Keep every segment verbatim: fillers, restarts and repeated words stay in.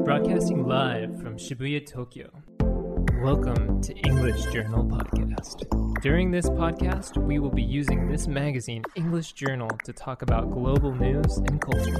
Broadcasting live from Shibuya, Tokyo. Welcome to English Journal Podcast. During this podcast, we will be using this magazine, English Journal, to talk about global news and culture.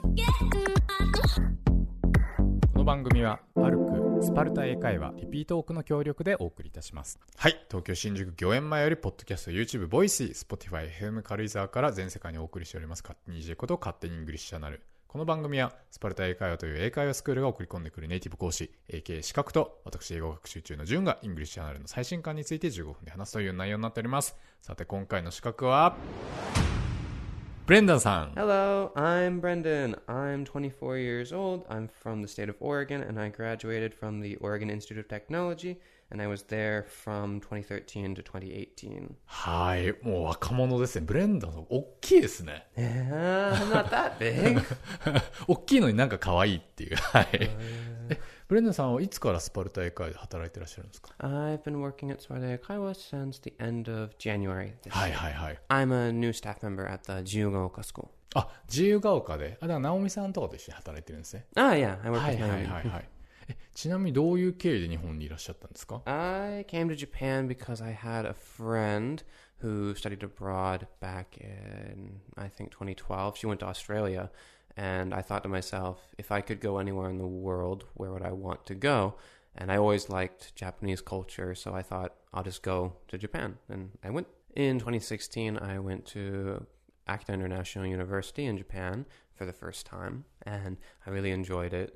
この番組はパルクスパルタ英会話リピートオークの協力でお送りいたします。はい、東京新宿御苑前よりポッドキャスト、YouTube、ボイシー、Spotify、エフエム 軽井沢から全世界にお送りしております勝手に イージェー こと勝手にイングリッシュチャンネル。この番組はスパルタ英会話という英会話スクールが送り込んでくるネイティブ講師 エーケー 資格と私英語学習中のジュンがイングリッシュチャンネルの最新刊についてじゅうごふんで話すという内容になっております。さて今回の資格はブレンダンさん。 Hello, I'm Brendan. I'm twenty-four years old. I'm from the state of Oregon, and I graduated from the Oregon Institute of Technology, and I was there from twenty thirteen to twenty eighteen. はい、もう若者ですね。ブレンダンさん大きいですね。 Yeah, I'm not that big. 大きいのになんか可愛いっていう。はい。え、ブレンダンさんはいつからスパルタ英会話で働いてらっしゃるんですか？ I've been working at Sparta Kaiwa since the end of January this はい year. はいはい。 I'm a new staff member at the Jiyugaoka School. あ、自由が丘で、あ、だから直美さんとかと一緒に働いてるんですね。 Ah, yeah, I work はい with はい Naomi. はいはい。え、ちなみにどういう経緯で日本にいらっしゃったんですか？ I came to Japan because I had a friend who studied abroad back in, I think, twenty twelve. She went to Australia, and I thought to myself, if I could go anywhere in the world, where would I want to go? And I always liked Japanese culture, so I thought, I'll just go to Japan. And I went. In twenty sixteen, I went to Akita International University in Japan for the first time, and I really enjoyed it.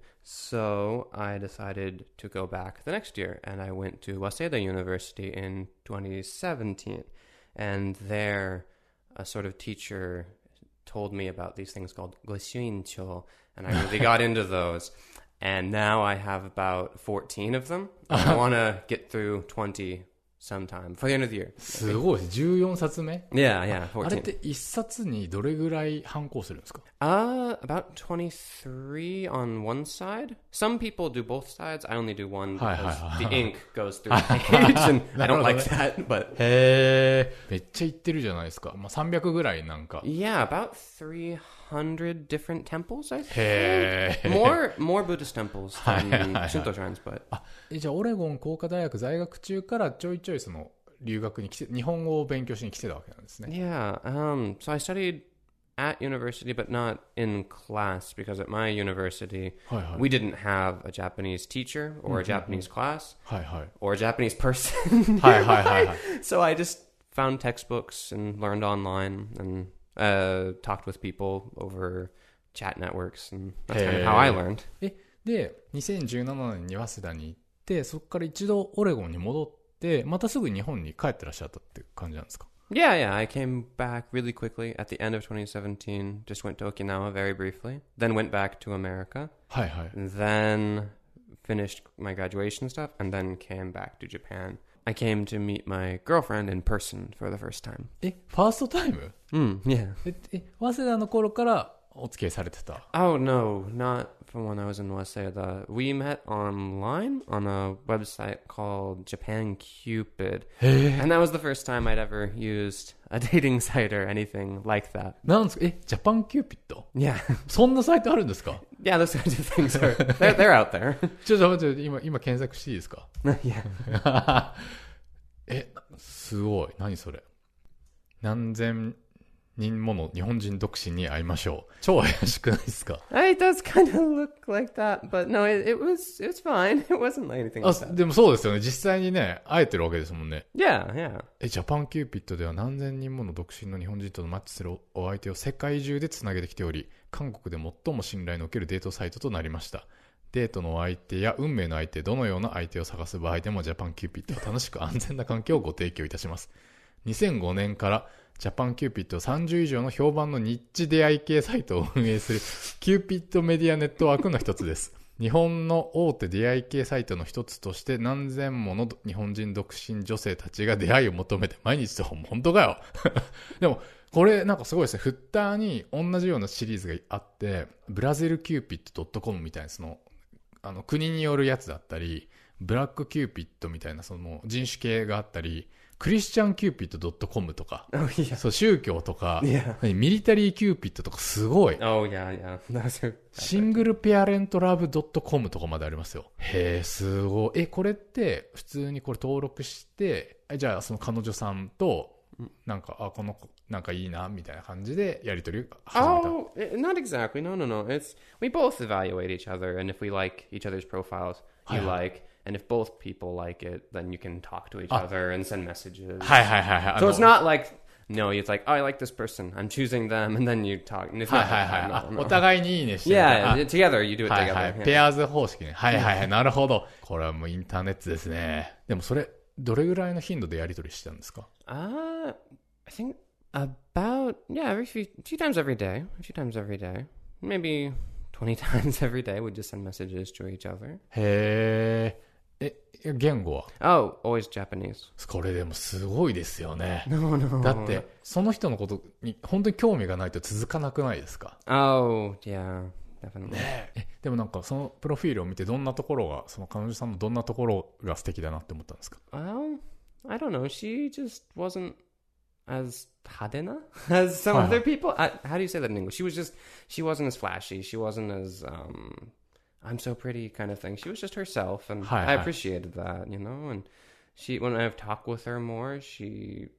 So I decided to go back the next year, and I went to Waseda University in twenty seventeen. And there, a sort of teacher told me about these things called Goshuincho, and I really got into those. And now I have about fourteen of them. I want to get through twenty sometime for the end of the year. すごいです。じゅうよんさつめ Yeah, yeah, あれっ fourteen. ていっさつにどれぐらい反抗するんですか？ Uh, about twenty-three on one side. Some people do both sides. I only do one Hi, because hi, hi. the ink goes through the page, and I don't like that. But へー、めっちゃ行ってるじゃないですか。まあ、さんびゃくぐらいなんか。 yeah, about three hundred different temples, I think. へー。 More, more Buddhist temples than Hi, hi, hi. Shinto shrines, but あ、え、じゃあオレゴン工科大学在学中からちょいちょいその留学に来て、日本語を勉強しに来てたわけなんですね。 yeah. Um, so I studied at university, but not in class, because at my university はいはい。 we didn't have a Japanese teacher or a Japanese class はいはい。 or a Japanese person. はいはいはいはい。 So I just found textbooks and learned online and uh, talked with people over chat networks, and that's kind of how I learned. え、で、にせんじゅうななねんに早稲田に行って、そこから一度オレゴンに戻って、またすぐ日本に帰ってらっしゃったって感じなんですか？ Yeah, yeah. I came back really quickly at the end of twenty seventeen. Just went to Okinawa very briefly. Then went back to America. はいはい。 Then finished my graduation stuff, and then came back to Japan. I came to meet my girlfriend in person for the first time. え、ファーストタイム？ Mm, yeah. え、え、早稲田の頃からお付き合いされてた？ Oh, no, not from when I was in Waseda. We met online on a website called Japan Cupid. へー。 And that was the first time I'd ever used a dating site or anything like that. なんですか？え、ジャパンキューピッド？ Yeah. そんなサイトあるんですか？ Yeah, those kinds of things are, they're, they're out there. ちょっと待って、今、今検索していいですか？ Yeah. え、すごい。何それ。何千人もの日本人独身に会いましょう。超怪しくないですか？ It does kind of look like that, but no, it, it was, it was fine. It wasn't like anything あ、 like that. でもそうですよね。実際にね、会えてるわけですもんね。 Yeah, yeah. え、ジャパンキューピッドでは何千人もの独身の日本人とのマッチするお相手を世界中でつなげてきており、韓国で最も信頼のおけるデートサイトとなりました。デートのお相手や運命の相手、どのような相手を探す場合でもジャパンキューピッドは楽しく安全な環境をご提供いたします。にせんごねんからジャパンキューピッドさんじゅう以上の評判のニッチ出会い系サイトを運営するキューピッドメディアネットワークの一つです。日本の大手出会い系サイトの一つとして何千もの日本人独身女性たちが出会いを求めて毎日と本当かよでもこれなんかすごいですね。フッターに同じようなシリーズがあって、ブラジルキューピッド .com みたいなそのあの国によるやつだったり、ブラックキューピッドみたいなその人種系があったり、 クリスチャンキューピット ドットコム とか、 Oh yeah. そう宗教とか、 Yeah. 何ミリタリーキューピットとかすごい。 Oh yeah, yeah. Those are シングルペアレントラブ ドットコム とかまでありますよ。へえ、すごい。え、これって普通にこれ登録して、えじゃあその彼女さんとなんか、あ、この子なんかいいなみたいな感じでやり取りを始めた。 Oh, eh, not exactly. No, no, no. It's we both evaluate each other, and if we like each other's profiles, you Hi. like, and if both people like it, then you can talk to each Ah. other and send messages. はいはいはいはい。 So あ it's の not like no, it's like oh, I like this person. I'm choosing them, and then you talk. And it's はい not はい like はい。 that. あ No, no. お互いにいいねしてみたい Yeah, な。 together you do it はい together. はい。 yeah. ペアーズ方式ね。はいはいはい。なるほど。これはもうインターネットですね。でもそれ、どれぐらいの頻度でやり取りしてたんですか？ Uh, I think about yeah, every few few times every day. A few times every day. Maybe twenty times every day. We just send messages to each other. へえ。え、言語は？ Oh, always Japanese. これでもすごいですよね。 No, no. だって、その人のことに本当に興味がないと続かなくないですか？ Oh, yeah, definitely. ねえ。でもなんかそのプロフィールを見てどんなところが、その彼女さんのどんなところが素敵だなって思ったんですか？ Well, I don't know. She just wasn't as hadena as some Uh-huh. other people. I, how do you say that in English? She was just, she wasn't as flashy. She wasn't as, um, I'm so pretty kind of thing. She was just herself, and Hi, I hi. appreciated that, you know. And she, when I've talked with her more, she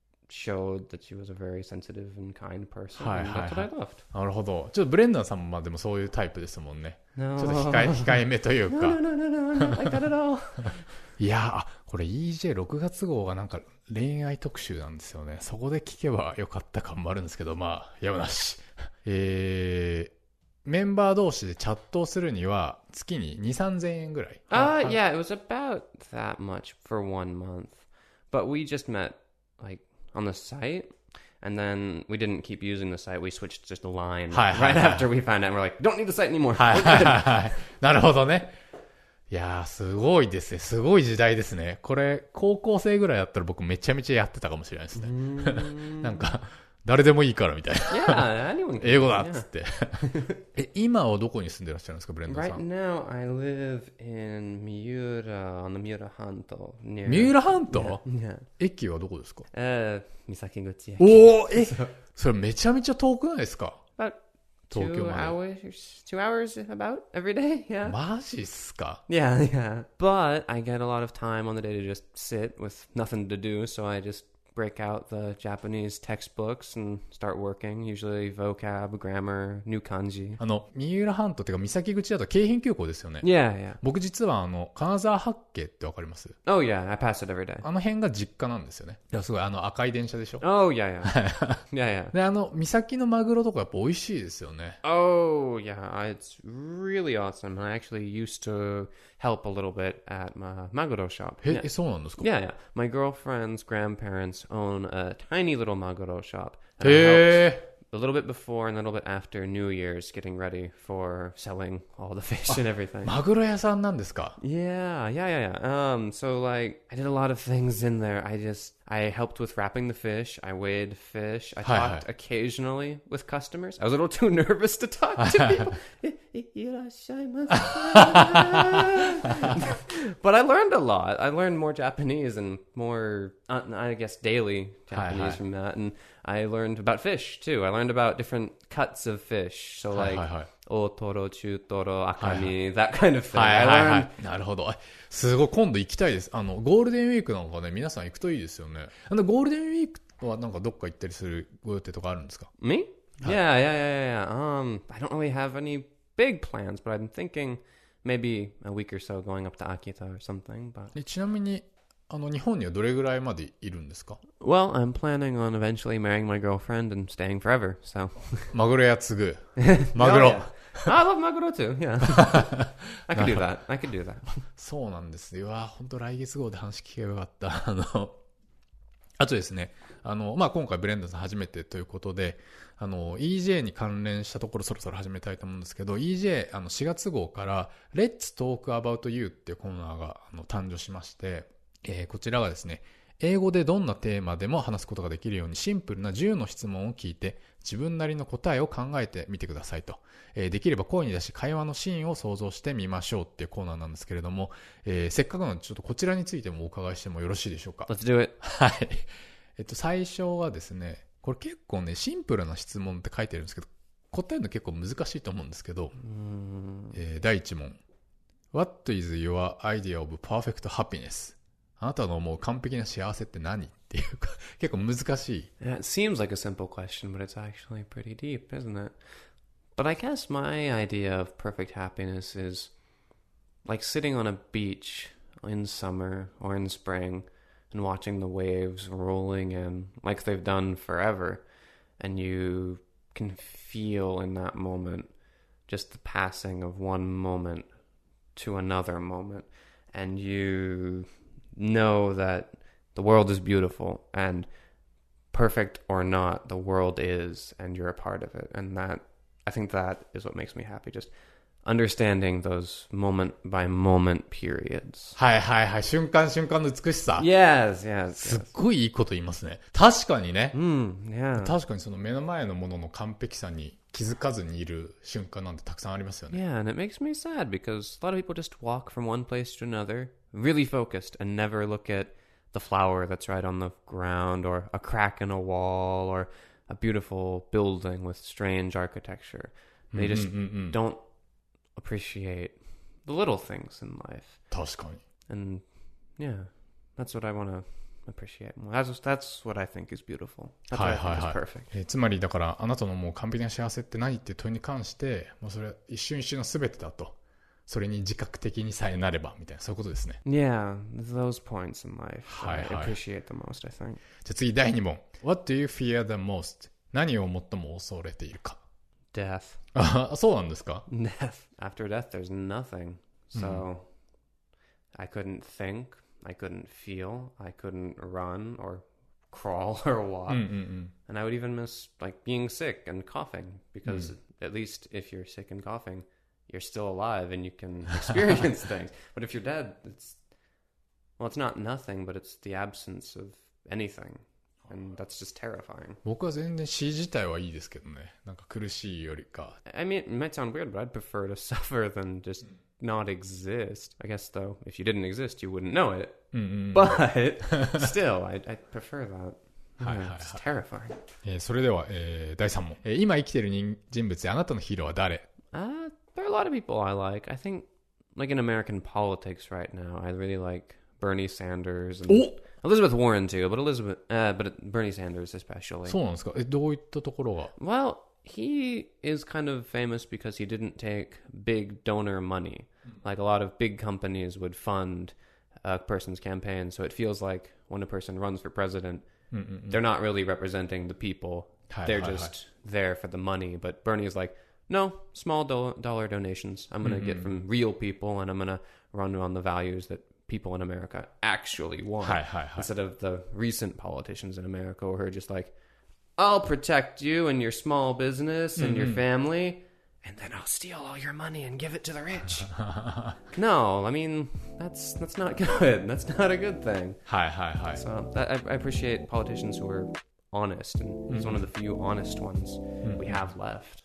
showed that she was a very sensitive and kind person. Hi, and hi, that's what hi. I loved. なるほど。ちょっとブレンダーさんもまあでもそういうタイプですもんね。 No, ちょっと控え、控えめというか。 no, no, no, no, no, not like that at all. いやー、あ、これ イージェーろく 月号がなんか恋愛特集なんですよね。そこで聞けばよかった感もあるんですけど、まあ、やむなし。えー、メンバー同士でチャットをするには月にに、さんぜんえんぐらい。 Uh, yeah, it was about that much for one month. But we just met, like, on the site, and then we didn't keep using the site. We switched just a line Hi, hi, right hi. after we found out. And we're like, don't need the site anymore. はいはいはいはい。なるほどね。いやー、すごいですね。すごい時代ですね。これ、高校生ぐらいだったら僕めちゃめちゃやってたかもしれないですね。なんか、誰でもいいからみたいな。 Yeah, anyone can. 英語だっ yeah. つって。え、今はどこに住んでらっしゃるんですか、ブレンダーさ Right ん。 now, I live in Miura, on the Miura Hanto. Near... 三浦半島 Yeah. 駅はどこですか？ Uh, Misakiguchi. おー、え、それめちゃめちゃ遠くないですか？ About 東京 two まで。 hours, two hours about every day. Yeah. マジっすか？ Yeah, yeah. But I get a lot of time on the day to just sit with nothing to do, so I just break out the Japanese textbooks and start working. Usually vocab, grammar, new kanji. あの、三浦半島っていうか三崎口だと京浜急行ですよね。 Yeah, yeah. 僕実はあの、金沢八景ってわかります？ Oh, yeah. I pass it every day. あの辺が実家なんですよね。いや、すごいあの赤い電車でしょ。 Oh, yeah, yeah. yeah, yeah. で、あの、三崎のマグロとかやっぱ美味しいですよね。 Oh, yeah. It's really awesome. I actually used to help a little bit at my Maguro shop. え、 Yeah. え、そうなんですか？ Yeah, yeah. My girlfriend's grandparents own a tiny little Maguro shop. And I helped へー。 a little bit before and a little bit after New Year's, getting ready for selling all the fish and everything. マグロ屋さんなんですか？ Yeah, yeah, yeah, yeah. Um, so like, I did a lot of things in there. I just, I helped with wrapping the fish. I weighed fish. I Hi, talked hi. occasionally with customers. I was a little too nervous to talk to people. But I learned a lot. I learned more Japanese and more, uh, I guess, daily Hi, Japanese hi. from that. And I learned about fish too. I learned about different cuts of fish. So はい like, はいはい。 otoro, chutoro, akami, Hi, that kind of thing. はい I はいは learned. い。なるほど。すごい、今度行きたいです。あの、ゴールデンウィークなんかね、皆さん行くといいですよね。あの、ゴールデンウィークはなんかどっか行ったりするご予定とかあるんですか？ Me? Yeah, yeah, yeah, yeah, yeah. Um, I don't really have any big plans, but I'm thinking maybe a week or so going up to Akita or something. But えちなみに、あの、日本にはどれぐらいまでいるんですか？ well, I'm planning on eventually marrying my girlfriend and staying forever. So マグロ屋継ぐ。マグロ。 Oh, yeah. I love maguro too. Yeah, I could do that. I could do that. そうなんですよ。うわ、本当来月号で話聞けばよかった。あの、あとですね、あの、まあ、今回ブレンダーさん初めてということで、あの、イージェー に関連したところそろそろ始めたいと思うんですけど、イージェー、あの、しがつ号から、Let's Talk About You っていうコーナーがあの誕生しまして、えー、こちらがですね、 英語でどんなテーマでも話すことができるようにシンプルなじゅうの質問を聞いて自分なりの答えを考えてみてくださいと、えー、できれば声に出し会話のシーンを想像してみましょうっていうコーナーなんですけれども、えー、せっかくなのでちょっとこちらについてもお伺いしてもよろしいでしょうか。 Let's do it. はい、えっと最初はですね、これ結構ねシンプルな質問って書いてるんですけど答えるの結構難しいと思うんですけど、えー、だいいち問 What is your idea of perfect happiness? あなたの思う完璧な幸せって何っていうか結構難しい。 Yeah, it seems like a simple question, but it's actually pretty deep, isn't it? But I guess my idea of perfect happiness is like sitting on a beach in summer or in spring and watching the waves rolling in like they've done forever, and you can feel in that moment just the passing of one moment to another moment, and you know that the world is beautiful, and perfect or not, the world is, and you're a part of it. And that, I think that is what makes me happy, just understanding those moment by moment periods. はいはいはい、瞬間瞬間の美しさ。 Yes, yes, すっ yes. ごいいいこと言いますね。確かにね、 Mm, yeah. 確かにその目の前のものの完璧さに気づかずにいる瞬間なんてたくさんありますよね。 Yeah, and it makes me sad because a lot of people just walk from one place to another, really focused, and never look at the flower that's right on the ground, or a crack in a wall, or a beautiful building with strange architecture. They just うんうんうんうん、 don't appreciate the little things in life. 確かに。 And yeah, that's what I want to appreciate more. That's, that's what I think is beautiful. That's what はい I はい think is はい、 perfect. えーつまりだからあなたのもう完璧な幸せって何っていう問いに関してもうそれは一瞬一瞬の全てだと、それに自覚的にさえなればみたいな、そういうことですね。 Yeah, those points in life Hi, I hi. appreciate the most, I think. じゃあ次だいに問 What do you fear the most? 何を最も恐れているか。 Death. あ、そうなんですか。 Death. After death, there's nothing. So I couldn't think, I couldn't feel, I couldn't run or crawl or walk. うんうんうん、 And I would even miss like being sick and coughing, because at least if you're sick and coughing, you're still alive and you can experience things. But if you're dead, it's, well, it's not nothing, but it's the absence of anything. And that's just terrifying. 僕は全然死自体はいいですけどね。なんか苦しいよりか。 I mean, it might sound weird, but I'd prefer to suffer than just not exist. I guess, though, if you didn't exist, you wouldn't know it. うんうんうん、 But still, I, I prefer that. Hi, Yeah, hi, it's hi. terrifying. えーそれでは、えーだいさん問、えー今生きている人人物であなたのヒーローは誰。 Uh, there are a lot of people I like. I think, like in American politics right now, I really like Bernie Sanders and お、 Elizabeth Warren too, but Elizabeth, uh, but Bernie Sanders especially. そうなんですか。え、どういったところが。 Well, he is kind of famous because he didn't take big donor money. Like a lot of big companies would fund a person's campaign, so it feels like when a person runs for president, うんうんうん、 they're not really representing the people. Hi, They're hi, just there for the money. But Bernie is like, no, small do- dollar donations. I'm going to get from real people, and I'm going to run on the values that people in America actually want. はいはいはい。 Instead of the recent politicians in America who are just like, I'll protect you and your small business and your family, and then I'll steal all your money and give it to the rich. No, I mean, that's that's not good. That's not a good thing. はいはいはい。 So that, I, I appreciate politicians who are honest, and he's one of the few honest ones we have left.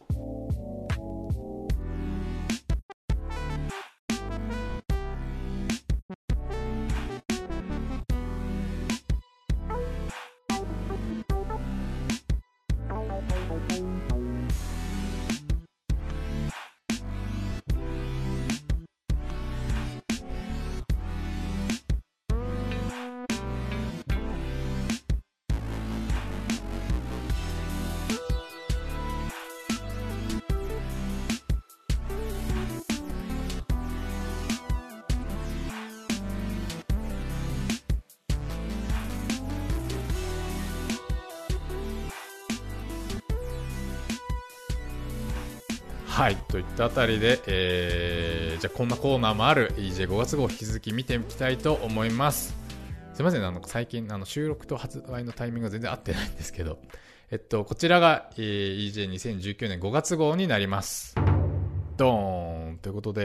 はい、といったあたりで、えー、じゃあこんなコーナーもある イージェーご 月号を引き続き見ていきたいと思います。すいません、あの最近あの収録と発売のタイミングが全然合ってないんですけど、えっとこちらが、えー、イージェーにせんじゅうきゅうねんごがつ号になります。ドーンということで、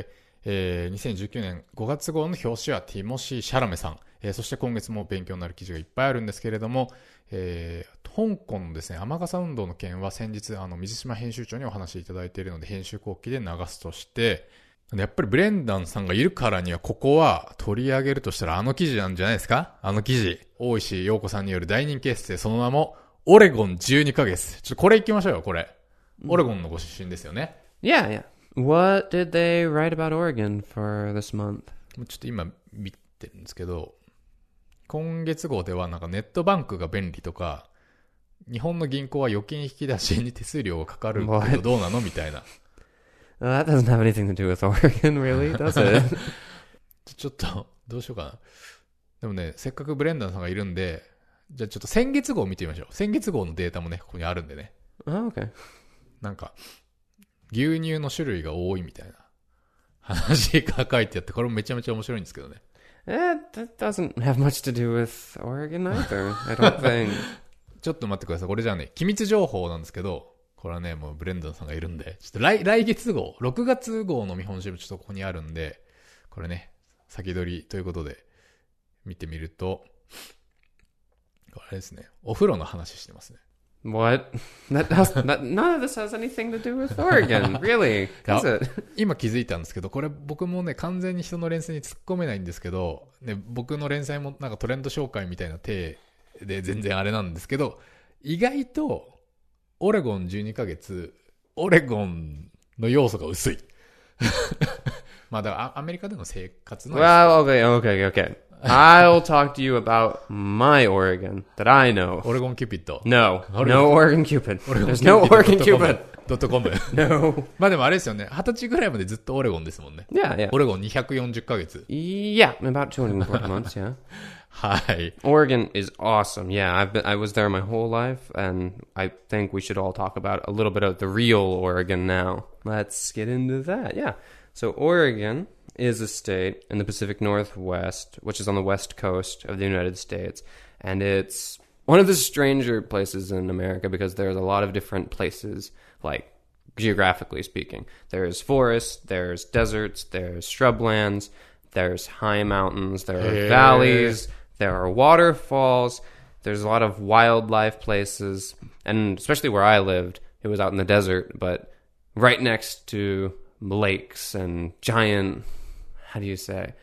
えー、にせんじゅうきゅうねんごがつ号の表紙はティモシー・シャラメさん、えー、そして今月も勉強になる記事がいっぱいあるんですけれども、えー、香港のですね雨傘運動の件は先日あの水島編集長にお話しいただいているので編集後期で流すとして、やっぱりブレンダンさんがいるからにはここは取り上げるとしたらあの記事なんじゃないですか。あの記事、大石陽子さんによる大人気エッセイ、その名もオレゴンじゅうにかげつ。ちょっとこれ行きましょうよ。これオレゴンのご出身ですよね。 Yeah, yeah. What did they write about Oregon for this month? ちょっと今見てるんですけど、今月号ではなんかネットバンクが便利とか、日本の銀行は預金引き出しに手数料がかかるけどどうなのみたいな。 Well, that doesn't have anything to do with Oregon, really, does it? ちょっとどうしようかな。でもね、せっかくブレンダンさんがいるんで、じゃあちょっと先月号見てみましょう。先月号のデータもねここにあるんでね。 Oh, okay. なんか牛乳の種類が多いみたいな話が書いてあって、これもめちゃめちゃ面白いんですけどね。 Eh, that doesn't have much to do with Oregon either, I don't think. ちょっと待ってください。これじゃあね、機密情報なんですけど、これはね、もうブレンダンさんがいるんで、ちょっと来、来月号、ろくがつ号の見本集もちょっとここにあるんで、これね、先取りということで見てみると、これですね、お風呂の話してますね。 What? That does, that, none of this has anything to do with Oregon, really, does it? 今気づいたんですけど、これ僕もね、完全に人の連載に突っ込めないんですけど、ね、僕の連載もなんかトレンド紹介みたいな体で全然あれなんですけど、意外と、オレゴンじゅうにかげつ、オレゴンの要素が薄い。まあだからアメリカでの生活の。 Well, okay, okay, okay. I'll talk to you about my Oregon that I know. オレゴンキューピッド。 No, no Oregon Cupid. There's no Oregon Cupid. ドットコム。 No. まあでもあれですよね。二十歳ぐらいまでずっとオレゴンですもんね。 Yeah, yeah. オレゴンにひゃくよんじゅっかげつ。 Yeah, about two hundred forty months, yeah. はい。 Oregon is awesome. Yeah, I've been, I was there my whole life, and I think we should all talk about a little bit of the real Oregon now. Let's get into that. Yeah. So Oregon is a state in the Pacific Northwest, which is on the west coast of the United States, and it's one of the stranger places in America because there's a lot of different places, like geographically speaking. There's forests, there's deserts, there's shrublands, there's high mountains, there are Hey. valleys, there are waterfalls, there's a lot of wildlife places, and especially where I lived, it was out in the desert, but right next to lakes and giant, how do you say,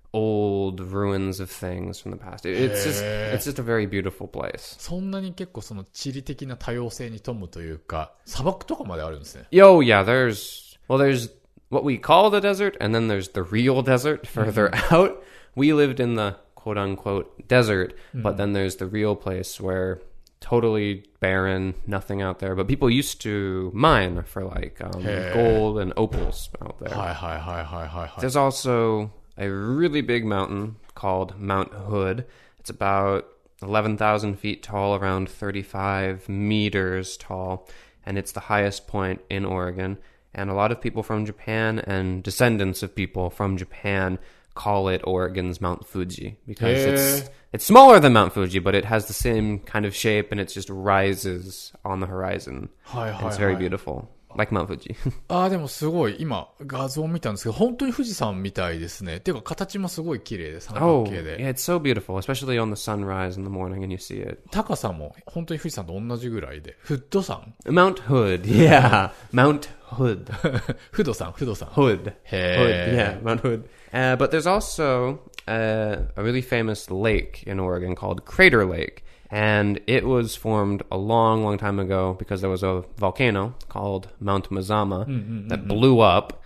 old ruins of things from the past. It- It's just, it's just a very beautiful place. そんなに結構その地理的な多様性に富むというか、砂漠とかまであるんですね。 Yo, yeah, there's, well, there's what we call the desert, and then there's the real desert further out. We lived in the quote-unquote desert, but then there's the real place where totally barren, nothing out there. But people used to mine for like um, Hey. gold and opals out there. はいはいはいはいはいはい。 There's also a really big mountain called Mount Hood. It's about eleven thousand feet tall, around thirty-five meters tall, and it's the highest point in Oregon. And a lot of people from Japan and descendants of people from Japan call it Oregon's Mount Fuji because Hey. it's it's smaller than Mount Fuji, but it has the same kind of shape and it just rises on the horizon. はいはい And は it's い。 very beautiful, like Mount Fuji. ああ、でもすごい、今画像見たんですけど、本当に富士山みたいですね。ていうか形もすごい綺麗で、三角 Oh, 形で。 yeah, it's so beautiful, especially on the sunrise in the morning and you see it. 高さも本当に富士山と同じぐらいで。フッド山 Mount Hood, yeah. Mount Hood. フド山、フド山。 Hood. Hey. Hood, yeah, Mount Hood. Uh, but there's also uh, a really famous lake in Oregon called Crater Lake. And it was formed a long, long time ago because there was a volcano called Mount Mazama that blew up.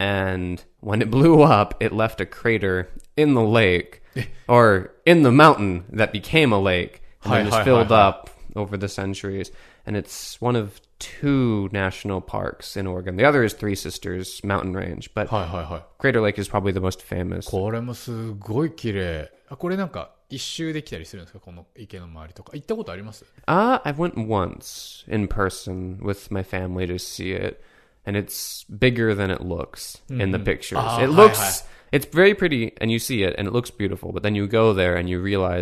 And when it blew up, it left a crater in the lake, or in the mountain that became a lake, and Hi, then just hi, filled hi, hi. up over the centuries. And it's one of two national parks in Oregon. The other is Three Sisters Mountain Range, but はいはいはい。 Crater Lake is probably the most famous. これもすごい綺麗。あ、これなんか一周できたりするんですか、この池の周りとか。行ったことあります？ Uh, I went once in person with my family to see it, and it's bigger than it looks in the pictures. Ah, it hi, looks, hi. it's very pretty, and you see it, and it looks beautiful, but then you go there and you realize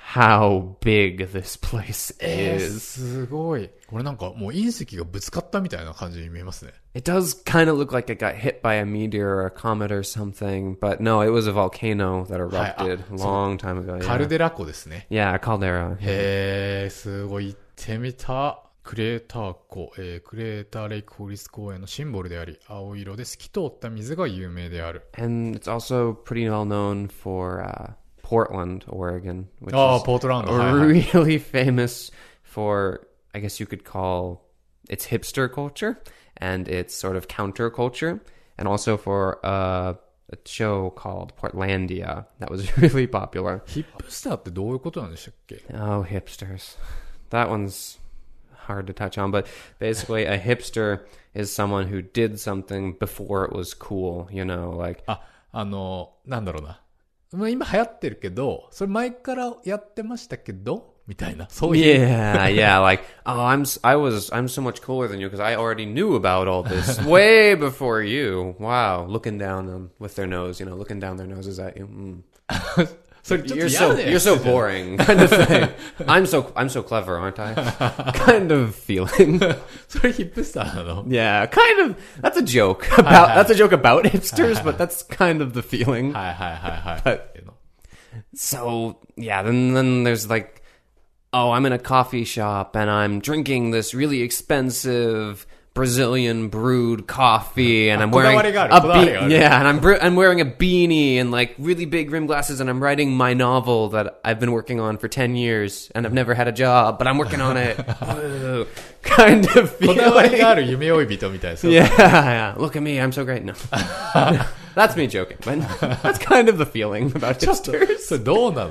how big this place えー、 is. すごい。これなんかもう隕石がぶつかったみたいな感じに見えますね。 It does kind of look like it got hit by a meteor or a comet or something, but no, it was a volcano that erupted a long time ago. カルデラ湖ですね。 Yeah, caldera. へー、すごい。行ってみた。クレーター湖、えー、クレーターレイク国立公園のシンボルであり、青色で透き通った水が有名である。 And it's also pretty well known for uh, Portland, Oregon, which ああ、 is ポートランド。はいはい、 really famous for, I guess you could call its hipster culture and its sort of counterculture, and also for uh, a show called Portlandia that was really popular. ヒップスターってどういうことなんでしたっけ？ Oh, hipsters. That one's hard to touch on, but basically a hipster is someone who did something before it was cool, you know, like あ、あの、なんだろうな。まあ今流行ってるけど、それ前からやってましたけど、みたいな。そういう。 Yeah, yeah, like, oh, I'm, I was, I'm so much cooler than you because I already knew about all this way before you. Wow, looking down them with their nose, you know, looking down their noses at you. Mm. それちょっと You're 嫌 so だよ。 you're so boring, kind of thing. I'm so I'm so clever, aren't I? Kind of feeling. それヒップスターなの？ Yeah, kind of. That's a joke about. That's a joke about hipsters, but that's kind of the feeling. はいはいはいはい。 But so yeah, then then there's like, oh, I'm in a coffee shop and I'm drinking this really expensive Brazilian brewed coffee, and I'm wearing a be- yeah, and I'm bre- I'm wearing a beanie and like really big rim glasses, and I'm writing my novel that I've been working on for ten years, and I've never had a job, but I'm working on it. Whoa. Kind of feeling. こだわりがある夢追い人みたいな。 Yeah, yeah. Look at me, I'm so great. No, that's me joking, but that's kind of the feeling about hipsters. それどうなの？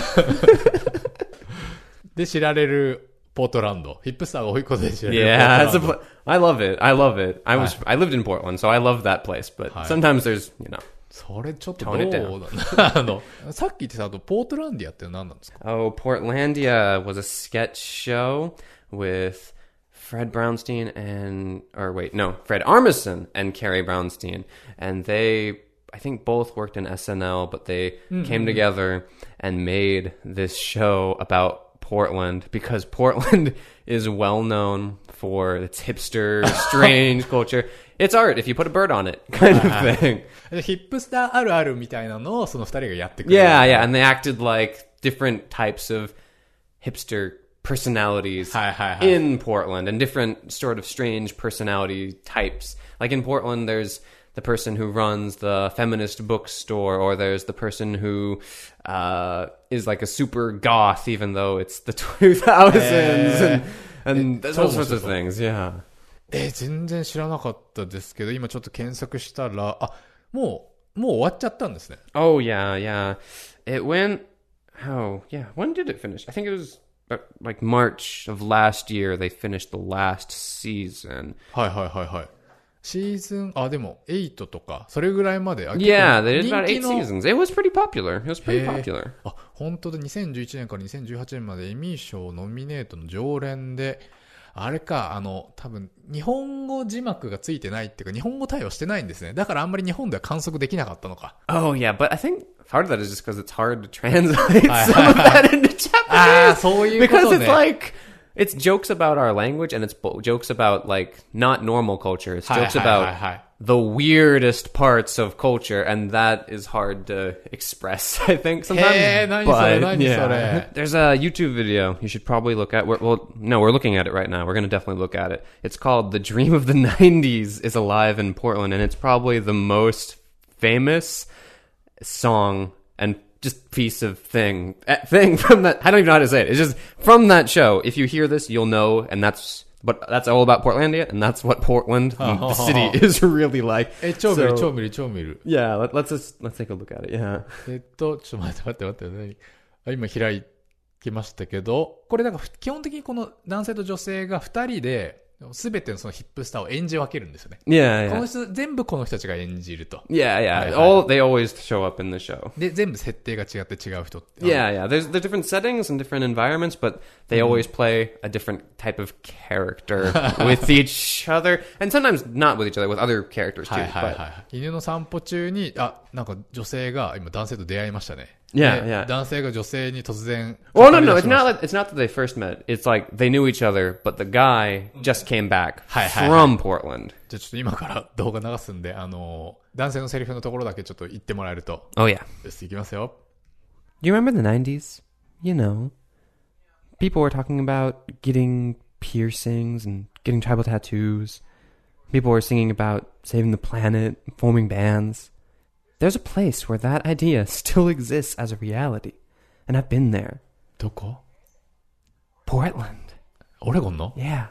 で知られる。ポートランド。ヒップスターが多いことで知られる。 Yeah, it's a pl- I love it. I love it. I was I lived in Portland, so I love that place. But sometimes there's, you know. それちょっとどうなんだ。あのさっき言ってたあとポートランディアって何なんですか？ Oh, Portlandia was a sketch show with Fred Brownstein and or wait, no, Fred Armisen and Carrie Brownstein, and they I think both worked in S N L, but they mm-hmm. came together and made this show about Portland because Portland is well known for its hipster, strange culture. It's art if you put a bird on it, kind of thing. ヒップスターあるあるみたいなのをその二人がやってくれる。 Yeah, yeah, and they acted like different types of hipster personalities in Portland and different sort of strange personality types. Like in Portland, there's the person who runs the feminist bookstore, or there's the person who uh, is like a super goth, even though it's the two thousands, and, and those sorts of things, yeah. えー、全然知らなかったですけど、今ちょっと検索したら、あ、もう、もう終わっちゃったんですね。 Oh, yeah, yeah. It went, oh, yeah, when did it finish? I think it was like March of last year, they finished the last season. はいはいはいはい。シーズン、あ、でも、エイトとか、それぐらいまで。 Yeah, they did about eight seasons. It was pretty popular. It was pretty popular. あ、本当だ、にせんじゅういちねんからにせんじゅうはちねんまでエミー賞ノミネートの常連で、あれか、あの、多分、日本語字幕がついてないっていうか、日本語対応してないんですね。だからあんまり日本では観測できなかったのか。 Oh, yeah, but I think part of that is just because it's hard to translate some of that into Japanese. ああ、そういうことね。 Because it's like... It's jokes about our language, and it's bo- jokes about, like, not normal culture. It's jokes about the weirdest parts of culture, and that is hard to express, I think, sometimes. Hey, but, yeah. There's a YouTube video you should probably look at. We're, well, no, we're looking at it right now. We're going to definitely look at it. It's called The Dream of the nineties is Alive in Portland, and it's probably the most famous song and just piece of thing thing from that. I don't even know how to say it. It's just from that show. If you hear this, you'll know, and that's what that's all about Portlandia, and that's what Portland, the city, is really like. え、超見る、超見る、超見る。 Yeah, let, let's just let's take a look at it. Yeah. えっとちょっと待って待って待って何？今開きましたけど、これなんか基本的にこの男性と女性が二人ですべてのそのヒップスターを演じ分けるんですよね。 Yeah, yeah. この人全部この人たちが演じると。 Yeah, yeah. All they always show up in the show. で全部設定が違って違う人って。 Yeah, yeah. There's there's different settings and different environments, but they always play a different type of character with each other, and sometimes not with each other, with other characters too. はいはいはい。犬の散歩中にあなんか女性が今男性と出会いましたね。 Yeah, で yeah. 男性が女性に突然 Well, no, no, 語 it's り出しました not. Like, it's not that they first met. It's like they knew each other, but the guy just came back はいはい from Portland. じゃあちょっと今から動画流すんで、あの男性のセリフのところだけちょっと言ってもらえると。 Oh yeah. よし、いきますよ。 Do you remember the nineties? You know, people were talking about getting piercings and getting tribal tattoos. People were singing about saving the planet, forming bands. There's a place where that idea still exists as a reality. And I've been there. どこ？ Portland. オレゴンの？ Yeah.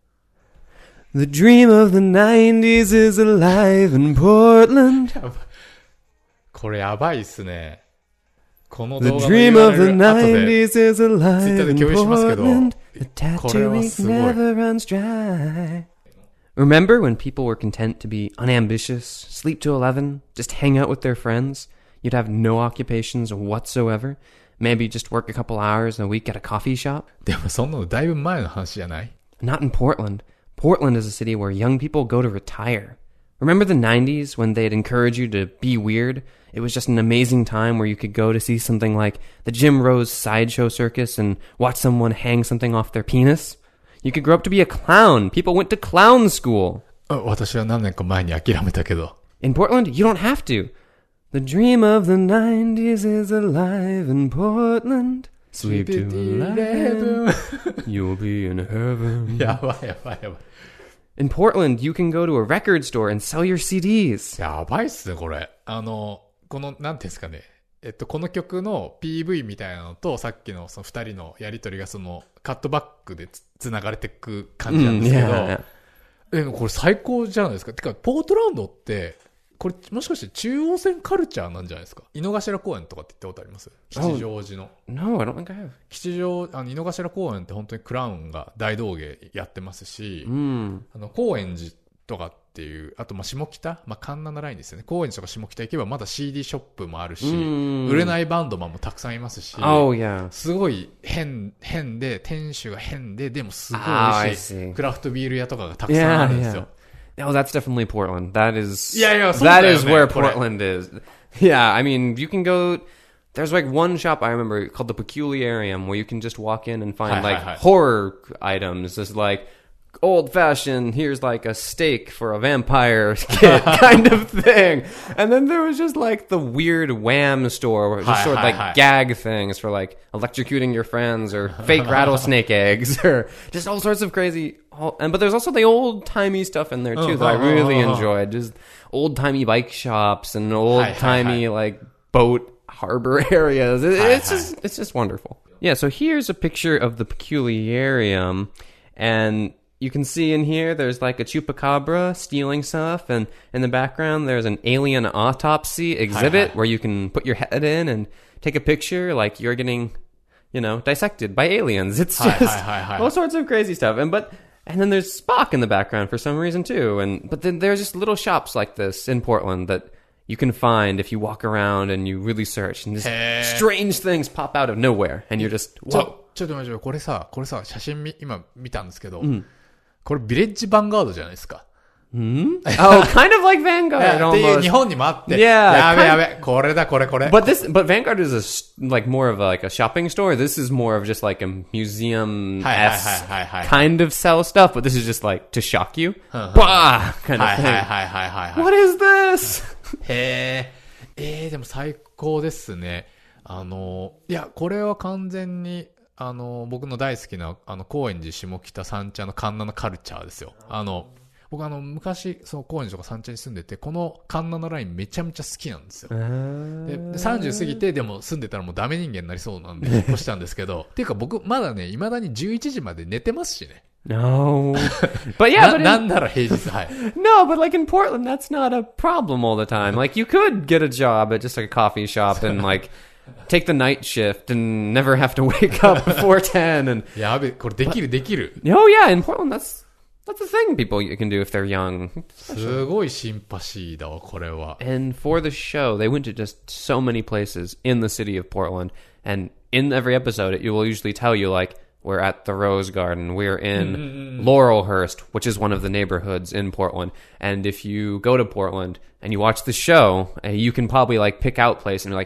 The dream of the nineties is alive in Portland. これやばいっすね。この The 動画の dream of the ユーアールエル 後で nineties is alive in 共有しますけど、 Portland. The これは tattoo すごい。 never runs dry. Remember when people were content to be unambitious, sleep to eleven, just hang out with their friends? You'd have no occupations whatsoever. Maybe just work a couple hours a week at a coffee shop. でもそんなのだいぶ前の話じゃない？ Not in Portland. Portland is a city where young people go to retire. Remember the nineties when they'd encourage you to be weird? It was just an amazing time where you could go to see something like the Jim Rose Sideshow Circus and watch someone hang something off their penis. You could grow up to be a clown. People went to clown school. あ、私は何年か前に諦めたけど。 In Portland, you don't have to. The dream of the nineties is alive in Portland. Sleep to eleven. You'll be in heaven. やばいやばいやばい。 In Portland, you can go to a record store and sell your C Ds. やばいっすね、これ。あの、この、なんていうんですかね。えっと、この曲の ピーブイ みたいなのと、さっきのその二人のやりとりがその、カットバックでつ、つながれていく感じなんですけど、 うん、いやいやえ、これ最高じゃないですか。てか、ポートランドって、これ、もしかして中央線カルチャーなんじゃないですか。井の頭公園とかって言ったことあります？吉祥寺の。 No, I don't think I have. 吉祥、あの、井の頭公園って本当にクラウンが大道芸やってますし、 Mm. あの、高円寺とかっていう、あと、ま、下北、まあ、環七ラインですよね。高円寺とか下北行けばまだ シーディー ショップもあるし、 Mm. 売れないバンドマンもたくさんいますし、 Oh, yeah. すごい変、変で、店主が変で、でもすごい Oh, 美 I 味しい see. クラフトビール屋とかがたくさんあるんですよ。 Oh, that's definitely Portland. That is. Yeah, yeah, that is そうだよね、 where これ。 Portland is. Yeah, I mean, you can go. There's like one shop I remember called the Peculiarium where you can just walk in and find Hi, hi, like hi. horror items. There's like old fashioned, here's like a steak for a vampire kid kind of thing. And then there was just like the weird Wham store where it just Hi, showed hi, like hi. gag things for like electrocuting your friends or fake rattlesnake eggs or just all sorts of crazy. All, and but there's also the old timey stuff in there too Oh, that I oh, really oh, oh. enjoyed. Just old timey bike shops and old Hi, hi, timey hi. like boat harbor areas. It, Hi, it's hi. just it's just wonderful. Yeah. So here's a picture of the Peculiarium, and you can see in here there's like a chupacabra stealing stuff, and in the background there's an alien autopsy exhibit hi. where you can put your head in and take a picture like you're getting, you know, dissected by aliens. It's Hi, just hi, hi, hi. all sorts of crazy stuff. And but and then there's Spock in the background for some reason too. And but then there's just little shops like this in Portland that you can find if you walk around and you really search, and just Hey. strange things pop out of nowhere, and you're just ち whoa. ょ、ちょっと待って、これさ、これさ、写真み、今見たんですけど、これビレッジヴァンガードじゃないですか。 Oh, kind of like Vanguard っていう almost. 日本にもあって。 Yeah, やべ kind- やべ、これだ、これこれ。 But this, but Vanguard is a s- like more of a, like a shopping store. This is more of just like a museum Hi, hi, s hi, hi, hi. kind of sell stuff. But this is just like to shock you. Bah, kind は of いはい thing. はいはいはいはい。 What is this? へえ、えー、でも最高ですね。あの、いや、これは完全に、あの、僕の大好きな、あの、高円寺下北三茶の環七カルチャーですよ。あの、僕あの、昔、その高円寺とか三茶に住んでて、この環七ラインめちゃめちゃ好きなんですよ。ででさんじゅう過ぎて、でも住んでたらもうダメ人間になりそうなんで、引っ越したんですけど、っていうか僕、まだね、未だにじゅういちじまで寝てますしね。 No. But yeah, な but な in, んなら平日、はい。 no, but like in Portland, that's not a problem all the time. Like you could get a job at just like a coffee shop and like take the night shift and never have to wake up before ten. And やべ、これできるできる。 oh yeah, in Portland, that's that's a thing people you can do if they're young. すごいシンパシーだわ、これは。 And for the show, they went to just so many places in the city of Portland. And in every episode, it will usually tell you, like, we're at the Rose Garden, we're in Laurelhurst, which is one of the neighborhoods in Portland. And if you go to Portland and you watch the show, uh, you can probably, like, pick out place and you're like,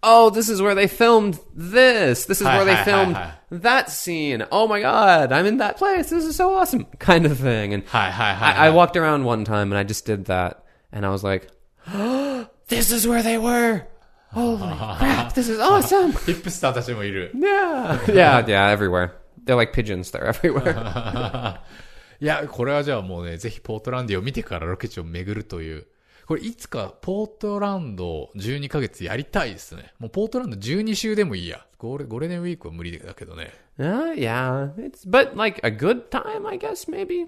oh, this is where they filmed this. This is where they はいはいはい filmed はい that scene. Oh my god, I'm in that place. This is so awesome. Kind of thing. And はいはいはい I, I はい。 walked around one time and I just did that. And I was like, oh, this is where they were. Holy crap, this is awesome. ヒップスターたちもいる。 Yeah. Yeah, yeah, everywhere. They're like pigeons. They're everywhere. いや、これはじゃあもうね、ぜひポートランドを見てからロケ地を巡るという。これいつかポートランドじゅうにかげつやりたいですね。もうポートランドじゅうに週でもいいや。ゴール、ゴールデンウィークは無理だけどね。 Uh, yeah, it's but like a good time, I guess. Maybe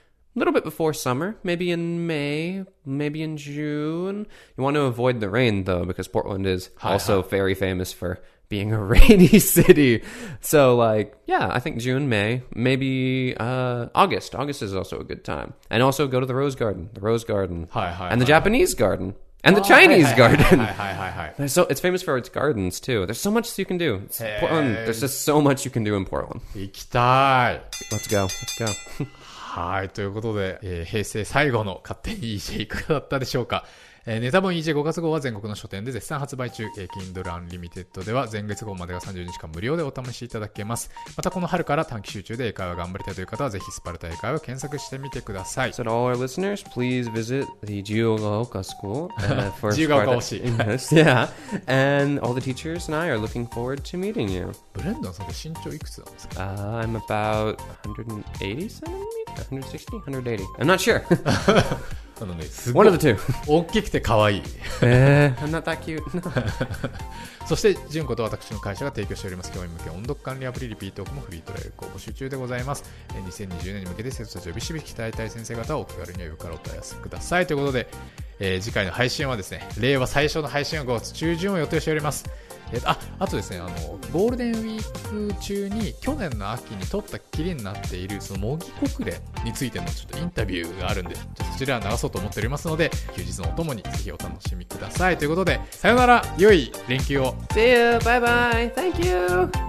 a little bit before summer. Maybe in May. Maybe in June. You want to avoid the rain though, because Portland is Hi, also hi. very famous for being a rainy city. So like, yeah, I think June, May, maybe uh, August. August is also a good time. And also go to the Rose Garden, the Rose Garden, はいはいはい。 and the Japanese garden, and the あー Chinese はいはいはい garden. はいはいはいはい。 There's so it's famous for its gardens too. There's so much you can do. It's Hey. Portland. There's just so much you can do in Portland. 行きたい。 Let's go. Let's go. はい。ということで、えー平成最後の勝手に イージェー いかがだったでしょうか。えーネタ本 イージェーご 月号は全国の書店で絶賛発売中。えー Kindle Unlimited では前月号までがさんじゅうにちかん無料でお試しいただけます。またこの春から短期集中で英会話頑張りたいという方はぜひスパルタ英会話を検索してみてください。 So to all our listeners, please visit the Jiugaoka School uh, for Jiugaoka Sparta Oshi. English. Yeah, and all the teachers and I are looking forward to meeting you. ブレンドンさんって身長いくつなんですか？ Uh, I'm about one eighty centimeters, one sixty, one eighty. I'm not sure. あのね、すご One い of the two. 大きくて可愛い。 Eh, I'm not that cute. そして、純子と私の会社が提供しております教員向け音読管理アプリリピートークもフリートライアル公募集中でございます。えーにせんにじゅうねんに向けて生徒たちをビシビシ鍛えたい先生方はお気軽にお呼びからお問い合わせください。ということで、えー次回の配信はですね、令和最初の配信はごがつ中旬を予定しております。えーと、あ、あとですね、あの、ゴールデンウィーク中に去年の秋に撮ったきりになっているその模擬国連についてのちょっとインタビューがあるんで、ちょっとそちらは流そうと思っておりますので、休日のお供にぜひお楽しみください。ということで、さよなら、良い連休を。 See you. Bye bye. Thank you.